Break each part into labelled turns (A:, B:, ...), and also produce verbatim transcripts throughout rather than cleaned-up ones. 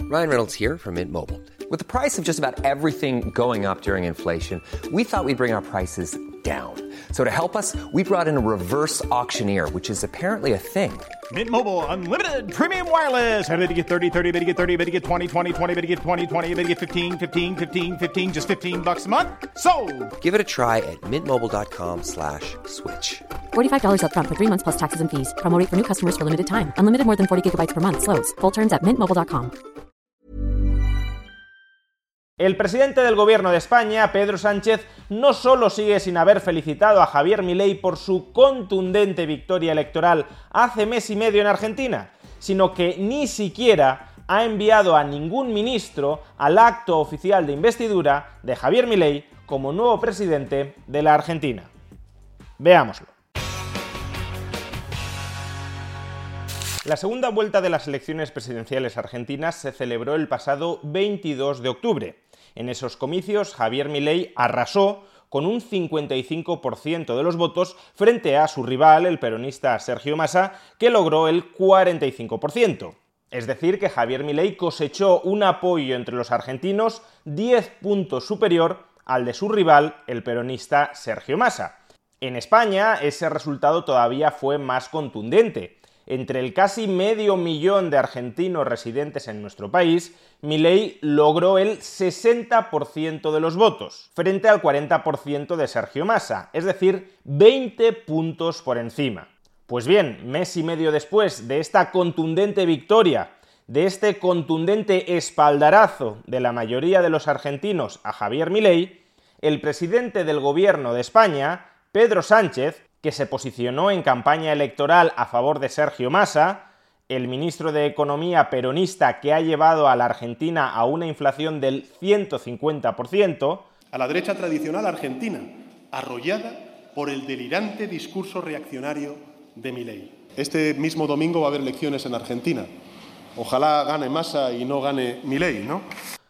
A: Ryan Reynolds here from Mint Mobile. With the price of just about everything going up during inflation, we thought we'd bring our prices down. So to help us, we brought in a reverse auctioneer, which is apparently a thing.
B: Mint Mobile Unlimited Premium Wireless. How to get thirty, thirty, how to get thirty, how to get twenty, twenty, twenty, how to get twenty, twenty, how to get fifteen, fifteen, fifteen, fifteen, just fifteen bucks a month? Sold!
A: Give it a try at mintmobile.com slash switch.
C: forty-five dollars up front for three months plus taxes and fees. Promo rate for new customers for limited time. Unlimited more than forty gigabytes per month. Slows full terms at mint mobile dot com.
D: El presidente del Gobierno de España, Pedro Sánchez, no solo sigue sin haber felicitado a Javier Milei por su contundente victoria electoral hace mes y medio en Argentina, sino que ni siquiera ha enviado a ningún ministro al acto oficial de investidura de Javier Milei como nuevo presidente de la Argentina. Veámoslo. La segunda vuelta de las elecciones presidenciales argentinas se celebró el pasado veintidós de octubre. En esos comicios, Javier Milei arrasó con un cincuenta y cinco por ciento de los votos frente a su rival, el peronista Sergio Massa, que logró el cuarenta y cinco por ciento. Es decir, que Javier Milei cosechó un apoyo entre los argentinos diez puntos superior al de su rival, el peronista Sergio Massa. En España, ese resultado todavía fue más contundente. Entre el casi medio millón de argentinos residentes en nuestro país, Milei logró el sesenta por ciento de los votos, frente al cuarenta por ciento de Sergio Massa, es decir, veinte puntos por encima. Pues bien, mes y medio después de esta contundente victoria, de este contundente espaldarazo de la mayoría de los argentinos a Javier Milei, el presidente del Gobierno de España, Pedro Sánchez, que se posicionó en campaña electoral a favor de Sergio Massa, el ministro de Economía peronista que ha llevado a la Argentina a una inflación del ciento cincuenta por ciento,
E: a la derecha tradicional argentina, arrollada por el delirante discurso reaccionario de Milei. Este mismo domingo va a haber elecciones en Argentina. Ojalá gane Massa y no gane Milei, ¿no?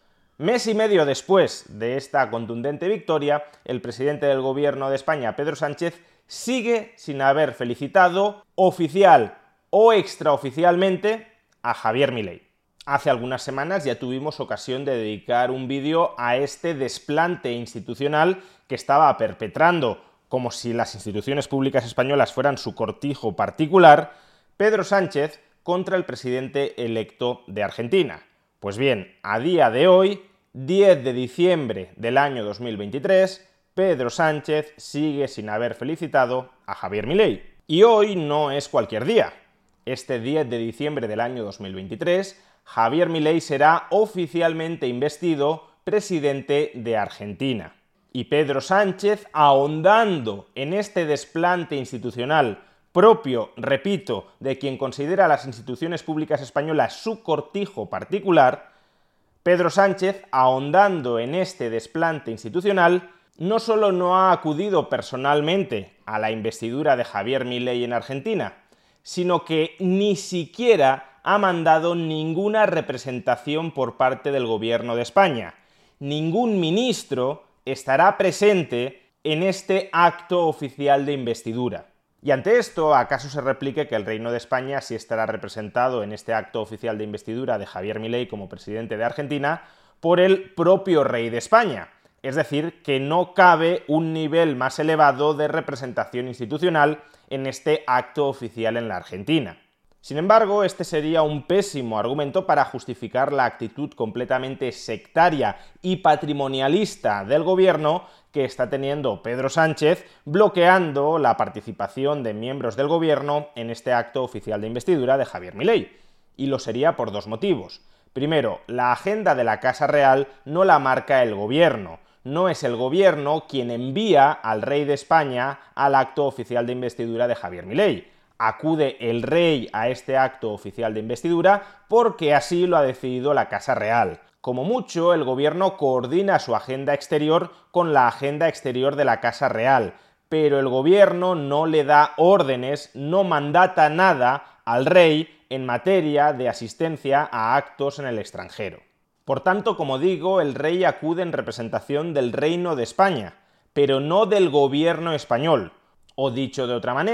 D: Mes y medio después de esta contundente victoria, el presidente del Gobierno de España, Pedro Sánchez, sigue sin haber felicitado oficial o extraoficialmente a Javier Milei. Hace algunas semanas ya tuvimos ocasión de dedicar un vídeo a este desplante institucional que estaba perpetrando, como si las instituciones públicas españolas fueran su cortijo particular, Pedro Sánchez contra el presidente electo de Argentina. Pues bien, a día de hoy, diez de diciembre del año dos mil veintitrés, Pedro Sánchez sigue sin haber felicitado a Javier Milei. Y hoy no es cualquier día. Este diez de diciembre del año dos mil veintitrés, Javier Milei será oficialmente investido presidente de Argentina. Y Pedro Sánchez, ahondando en este desplante institucional propio, repito, de quien considera a las instituciones públicas españolas su cortijo particular, Pedro Sánchez, ahondando en este desplante institucional, no solo no ha acudido personalmente a la investidura de Javier Milei en Argentina, sino que ni siquiera ha mandado ninguna representación por parte del Gobierno de España. Ningún ministro estará presente en este acto oficial de investidura. Y ante esto, ¿acaso se replique que el Reino de España sí estará representado en este acto oficial de investidura de Javier Milei como presidente de Argentina por el propio rey de España? Es decir, que no cabe un nivel más elevado de representación institucional en este acto oficial en la Argentina. Sin embargo, este sería un pésimo argumento para justificar la actitud completamente sectaria y patrimonialista del gobierno que está teniendo Pedro Sánchez, bloqueando la participación de miembros del gobierno en este acto oficial de investidura de Javier Milei. Y lo sería por dos motivos. Primero, la agenda de la Casa Real no la marca el gobierno. No es el gobierno quien envía al rey de España al acto oficial de investidura de Javier Milei. Acude el rey a este acto oficial de investidura porque así lo ha decidido la Casa Real. Como mucho, el gobierno coordina su agenda exterior con la agenda exterior de la Casa Real, pero el gobierno no le da órdenes, no mandata nada al rey en materia de asistencia a actos en el extranjero. Por tanto, como digo, el rey acude en representación del Reino de España, pero no del gobierno español. O dicho de otra manera,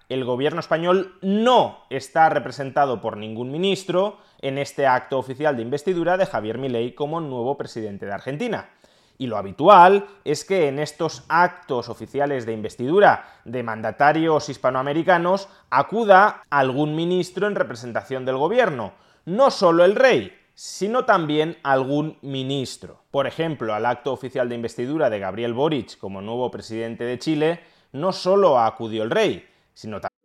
D: el gobierno español no está representado por ningún ministro en este acto oficial de investidura de Javier Milei como nuevo presidente de Argentina. Y lo habitual es que en estos actos oficiales de investidura de mandatarios hispanoamericanos acuda algún ministro en representación del gobierno, no solo el rey, sino también algún ministro. Por ejemplo, al acto oficial de investidura de Gabriel Boric como nuevo presidente de Chile, no solo acudió el rey, sino también...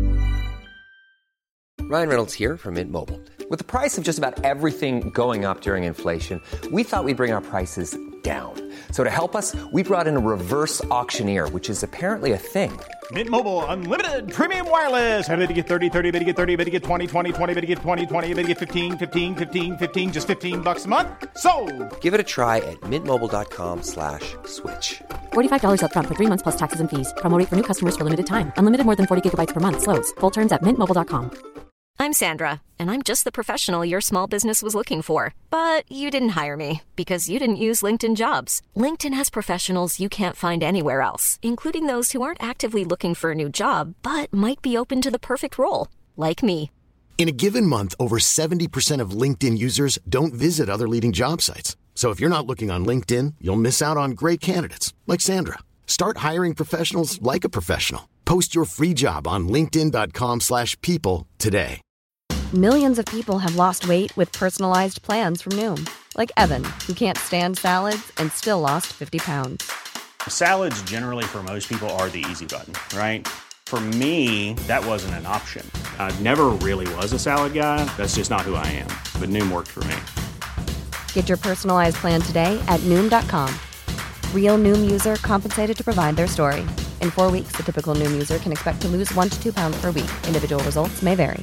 A: Ryan Reynolds here from Mint Mobile. With the price of just about everything going up during inflation, we thought we'd bring our prices down. So to help us, we brought in a reverse auctioneer, which is apparently a thing.
B: Mint Mobile Unlimited Premium Wireless. How to get thirty, thirty, how to get thirty, how to get twenty, twenty, twenty, how to get twenty, twenty, how to get fifteen, fifteen, fifteen, fifteen, just fifteen bucks a month? Sold!
A: Give it a try at mintmobile.com slash switch.
C: forty-five dollars up front for three months plus taxes and fees. Promo rate for new customers for limited time. Unlimited more than forty gigabytes per month. Slows full terms at mint mobile dot com.
F: I'm Sandra, and I'm just the professional your small business was looking for. But you didn't hire me because you didn't use LinkedIn Jobs. LinkedIn has professionals you can't find anywhere else, including those who aren't actively looking for a new job, but might be open to the perfect role, like me.
G: In a given month, over seventy percent of LinkedIn users don't visit other leading job sites. So if you're not looking on LinkedIn, you'll miss out on great candidates like Sandra. Start hiring professionals like a professional. Post your free job on linkedin dot com slash people today.
H: Millions of people have lost weight with personalized plans from Noom. Like Evan, who can't stand salads and still lost fifty pounds.
I: Salads generally for most people are the easy button, right? For me, that wasn't an option. I never really was a salad guy. That's just not who I am. But Noom worked for me.
H: Get your personalized plan today at Noom dot com. Real Noom user compensated to provide their story. In four weeks, the typical Noom user can expect to lose one to two pounds per week. Individual results may vary.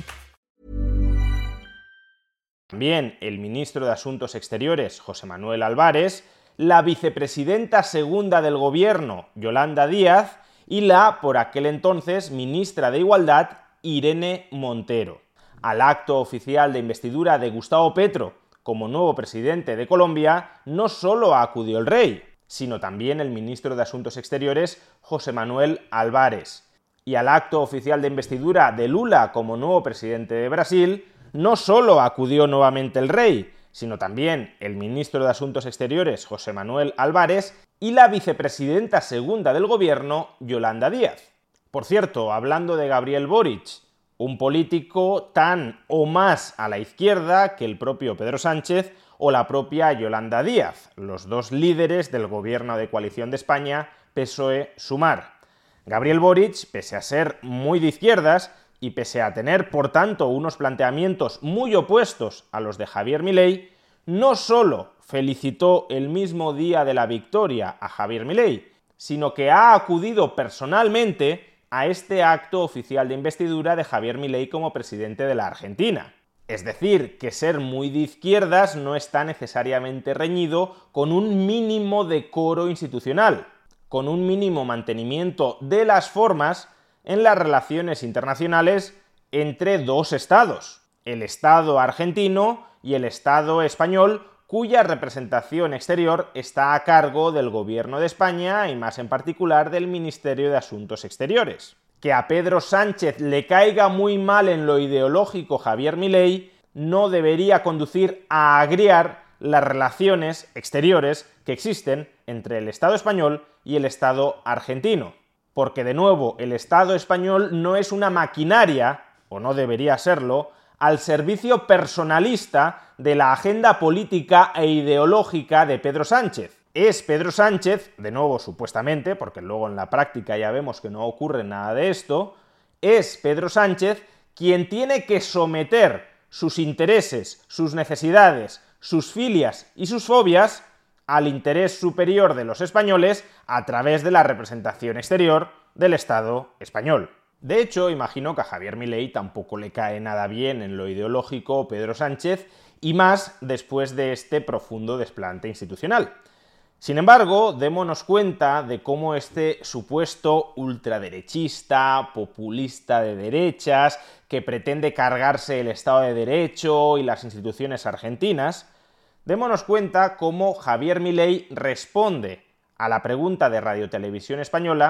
D: También el ministro de Asuntos Exteriores, José Manuel Álvarez, la vicepresidenta segunda del gobierno, Yolanda Díaz, y la, por aquel entonces, ministra de Igualdad, Irene Montero. Al acto oficial de investidura de Gustavo Petro como nuevo presidente de Colombia, no solo acudió el rey, sino también el ministro de Asuntos Exteriores, José Manuel Álvarez. Y al acto oficial de investidura de Lula como nuevo presidente de Brasil, no solo acudió nuevamente el rey, sino también el ministro de Asuntos Exteriores, José Manuel Álvarez, y la vicepresidenta segunda del gobierno, Yolanda Díaz. Por cierto, hablando de Gabriel Boric, un político tan o más a la izquierda que el propio Pedro Sánchez o la propia Yolanda Díaz, los dos líderes del gobierno de coalición de España, P S O E-Sumar. Gabriel Boric, pese a ser muy de izquierdas, y pese a tener, por tanto, unos planteamientos muy opuestos a los de Javier Milei, no solo felicitó el mismo día de la victoria a Javier Milei, sino que ha acudido personalmente a este acto oficial de investidura de Javier Milei como presidente de la Argentina. Es decir, que ser muy de izquierdas no está necesariamente reñido con un mínimo decoro institucional, con un mínimo mantenimiento de las formas en las relaciones internacionales entre dos estados, el Estado argentino y el Estado español, cuya representación exterior está a cargo del Gobierno de España y más en particular del Ministerio de Asuntos Exteriores. Que a Pedro Sánchez le caiga muy mal en lo ideológico Javier Milei no debería conducir a agriar las relaciones exteriores que existen entre el Estado español y el Estado argentino. Porque, de nuevo, el Estado español no es una maquinaria, o no debería serlo, al servicio personalista de la agenda política e ideológica de Pedro Sánchez. Es Pedro Sánchez, de nuevo supuestamente, porque luego en la práctica ya vemos que no ocurre nada de esto, es Pedro Sánchez quien tiene que someter sus intereses, sus necesidades, sus filias y sus fobias al interés superior de los españoles a través de la representación exterior del Estado español. De hecho, imagino que a Javier Milei tampoco le cae nada bien en lo ideológico Pedro Sánchez, y más después de este profundo desplante institucional. Sin embargo, démonos cuenta de cómo este supuesto ultraderechista, populista de derechas, que pretende cargarse el Estado de Derecho y las instituciones argentinas, démonos cuenta cómo Javier Milei responde a la pregunta de Radio Televisión Española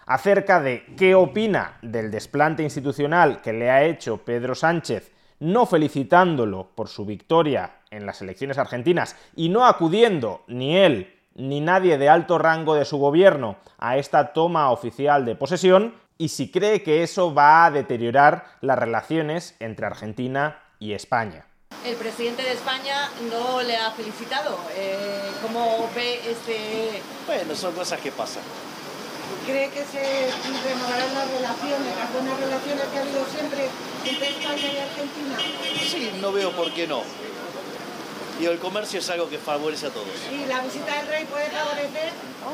D: acerca de qué opina del desplante institucional que le ha hecho Pedro Sánchez, no felicitándolo por su victoria en las elecciones argentinas y no acudiendo ni él ni nadie de alto rango de su gobierno a esta toma oficial de posesión, y si cree que eso va a deteriorar las relaciones entre Argentina y España.
J: El presidente de España no le ha felicitado. Eh, ¿Cómo ve este...?
K: Bueno, son cosas que pasan.
L: ¿Cree que se renovarán las relaciones, las buenas relaciones que ha habido siempre entre España y Argentina?
K: Sí, no veo por qué no. Y el comercio es algo que favorece a todos.
L: ¿Y la visita del rey puede favorecer?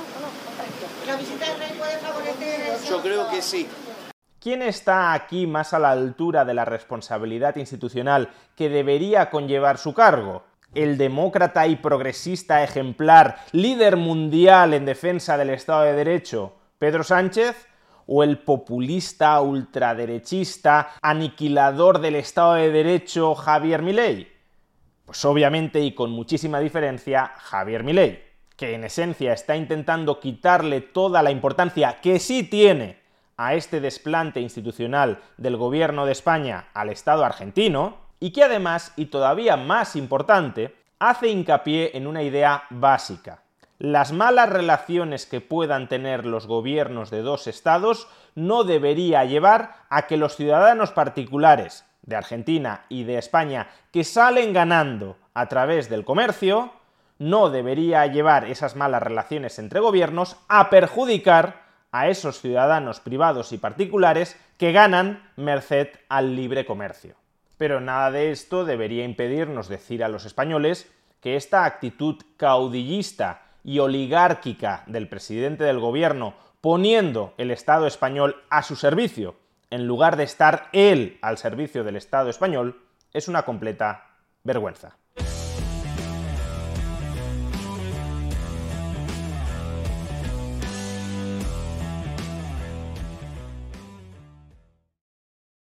L: ¿La visita del rey puede favorecer eso?
K: Yo creo que sí.
D: ¿Quién está aquí más a la altura de la responsabilidad institucional que debería conllevar su cargo? ¿El demócrata y progresista ejemplar, líder mundial en defensa del Estado de Derecho, Pedro Sánchez? ¿O el populista, ultraderechista, aniquilador del Estado de Derecho, Javier Milei? Pues obviamente y con muchísima diferencia, Javier Milei, que en esencia está intentando quitarle toda la importancia que sí tiene a este desplante institucional del gobierno de España al Estado argentino, y que además, y todavía más importante, hace hincapié en una idea básica. Las malas relaciones que puedan tener los gobiernos de dos estados no debería llevar a que los ciudadanos particulares de Argentina y de España que salen ganando a través del comercio, no debería llevar esas malas relaciones entre gobiernos a perjudicar a esos ciudadanos privados y particulares que ganan merced al libre comercio. Pero nada de esto debería impedirnos decir a los españoles que esta actitud caudillista y oligárquica del presidente del gobierno, poniendo el Estado español a su servicio, en lugar de estar él al servicio del Estado español, es una completa vergüenza.